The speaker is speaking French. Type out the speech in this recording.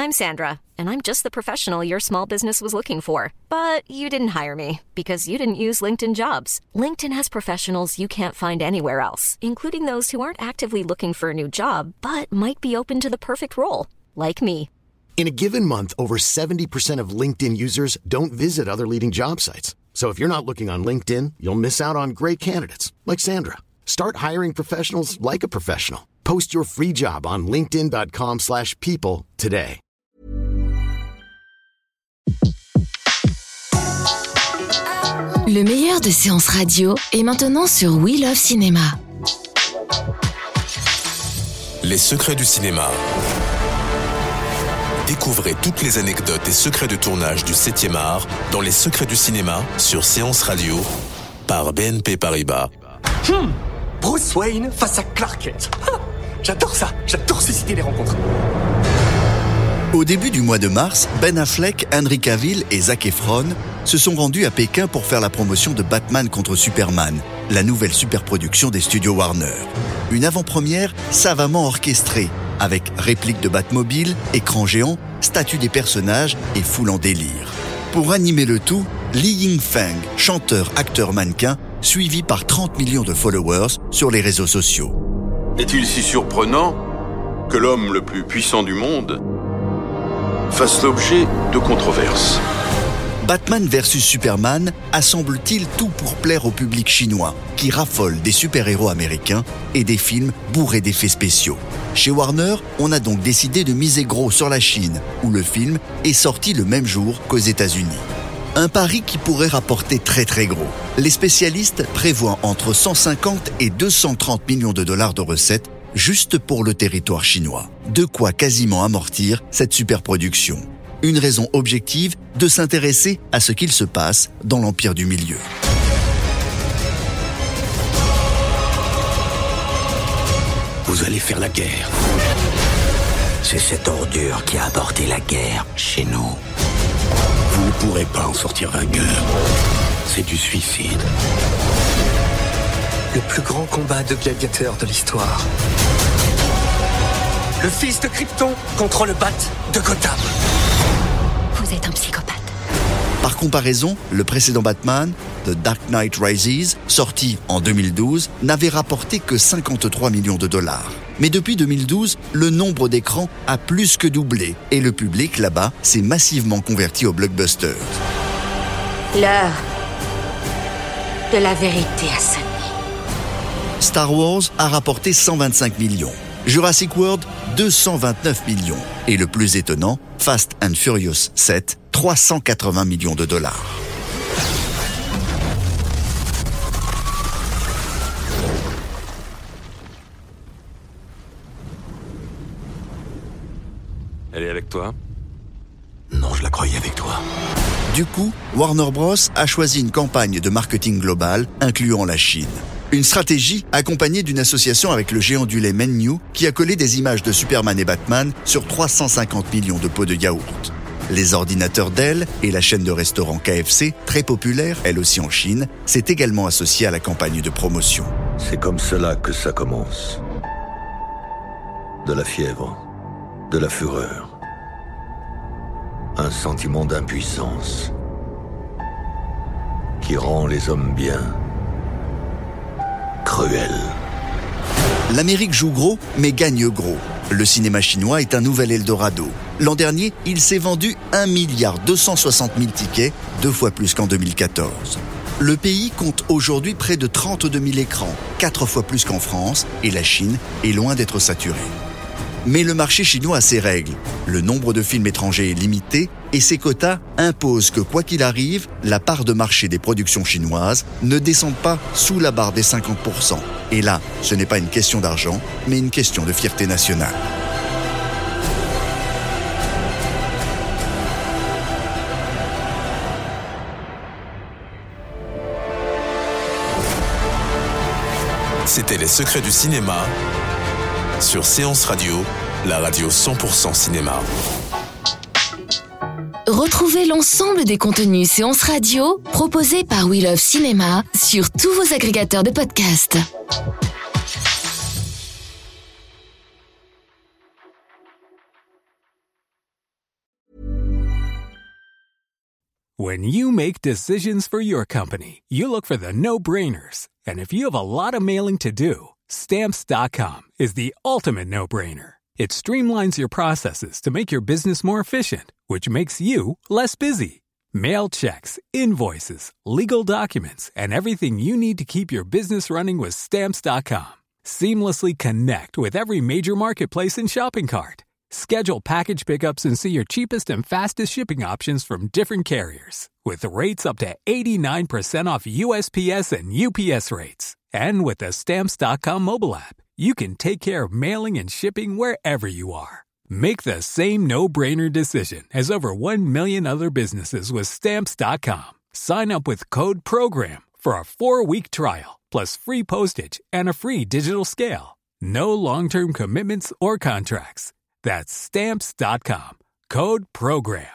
I'm Sandra, and I'm just the professional your small business was looking for. But you didn't hire me because you didn't use LinkedIn Jobs. LinkedIn has professionals you can't find anywhere else, including those who aren't actively looking for a new job, but might be open to the perfect role, like me. In a given month, over 70% of LinkedIn users don't visit other leading job sites. So if you're not looking on LinkedIn, you'll miss out on great candidates like Sandra. Start hiring professionals like a professional. Post your free job on linkedin.com/people today. Le meilleur de séances radio est maintenant sur We Love Cinéma. Les secrets du cinéma. Découvrez toutes les anecdotes et secrets de tournage du 7e art dans Les secrets du cinéma sur Séance Radio par BNP Paribas. Bruce Wayne face à Clark Kent. J'adore ça, j'adore susciter les rencontres. Au début du mois de mars, Ben Affleck, Henry Cavill et Zac Efron se sont rendus à Pékin pour faire la promotion de Batman contre Superman, la nouvelle superproduction des studios Warner. Une avant-première savamment orchestrée, avec répliques de Batmobile, écran géant, statues des personnages et foule en délire. Pour animer le tout, Li Yingfeng, chanteur, acteur, mannequin, suivi par 30 millions de followers sur les réseaux sociaux. Est-il si surprenant que l'homme le plus puissant du monde fasse l'objet de controverses? Batman vs Superman assemble-t-il tout pour plaire au public chinois, qui raffole des super-héros américains et des films bourrés d'effets spéciaux? Chez Warner, on a donc décidé de miser gros sur la Chine, où le film est sorti le même jour qu'aux États-Unis. Un pari qui pourrait rapporter très très gros. Les spécialistes prévoient entre 150 et 230 millions de dollars de recettes juste pour le territoire chinois. De quoi quasiment amortir cette superproduction. Une raison objective de s'intéresser à ce qu'il se passe dans l'Empire du Milieu. Vous allez faire la guerre. C'est cette ordure qui a apporté la guerre chez nous. Vous ne pourrez pas en sortir vainqueur. C'est du suicide. Le plus grand combat de gladiateurs de l'histoire. Le fils de Krypton contre le Bat de Gotham. Vous êtes un psychopathe. Par comparaison, le précédent Batman, The Dark Knight Rises, sorti en 2012, n'avait rapporté que 53 millions de dollars. Mais depuis 2012, le nombre d'écrans a plus que doublé et le public là-bas s'est massivement converti au blockbuster. L'heure de la vérité a sonné. Star Wars a rapporté 125 millions. Jurassic World, 229 millions. Et le plus étonnant, Fast and Furious 7, 380 millions de dollars. Elle est avec toi? Non, je la croyais avec toi. Du coup, Warner Bros. A choisi une campagne de marketing global incluant la Chine. Une stratégie accompagnée d'une association avec le géant du lait Mengniu qui a collé des images de Superman et Batman sur 350 millions de pots de yaourt. Les ordinateurs Dell et la chaîne de restaurants KFC, très populaire, elle aussi en Chine, s'est également associée à la campagne de promotion. C'est comme cela que ça commence. De la fièvre, de la fureur. Un sentiment d'impuissance qui rend les hommes bien cruels. L'Amérique joue gros, mais gagne gros. Le cinéma chinois est un nouvel Eldorado. L'an dernier, il s'est vendu 1,260 milliard tickets, 2 fois plus qu'en 2014. Le pays compte aujourd'hui près de 32 000 écrans, 4 fois plus qu'en France, et la Chine est loin d'être saturée. Mais le marché chinois a ses règles. Le nombre de films étrangers est limité et ses quotas imposent que, quoi qu'il arrive, la part de marché des productions chinoises ne descende pas sous la barre des 50%. Et là, ce n'est pas une question d'argent, mais une question de fierté nationale. C'était Les secrets du cinéma sur Séance Radio, la radio 100% cinéma. Retrouvez l'ensemble des contenus Séance Radio proposés par We Love Cinéma sur tous vos agrégateurs de podcasts. When you make decisions for your company, you look for the no-brainers. And if you have a lot of mailing to do, Stamps.com is the ultimate no-brainer. It streamlines your processes to make your business more efficient, which makes you less busy. Mail checks, invoices, legal documents, and everything you need to keep your business running with Stamps.com. Seamlessly connect with every major marketplace and shopping cart. Schedule package pickups and see your cheapest and fastest shipping options from different carriers, with rates up to 89% off USPS and UPS rates. And with the Stamps.com mobile app, you can take care of mailing and shipping wherever you are. Make the same no-brainer decision as over 1 million other businesses with Stamps.com. Sign up with code PROGRAM for a 4-week trial, plus free postage and a free digital scale. No long-term commitments or contracts. That's Stamps.com. Code PROGRAM.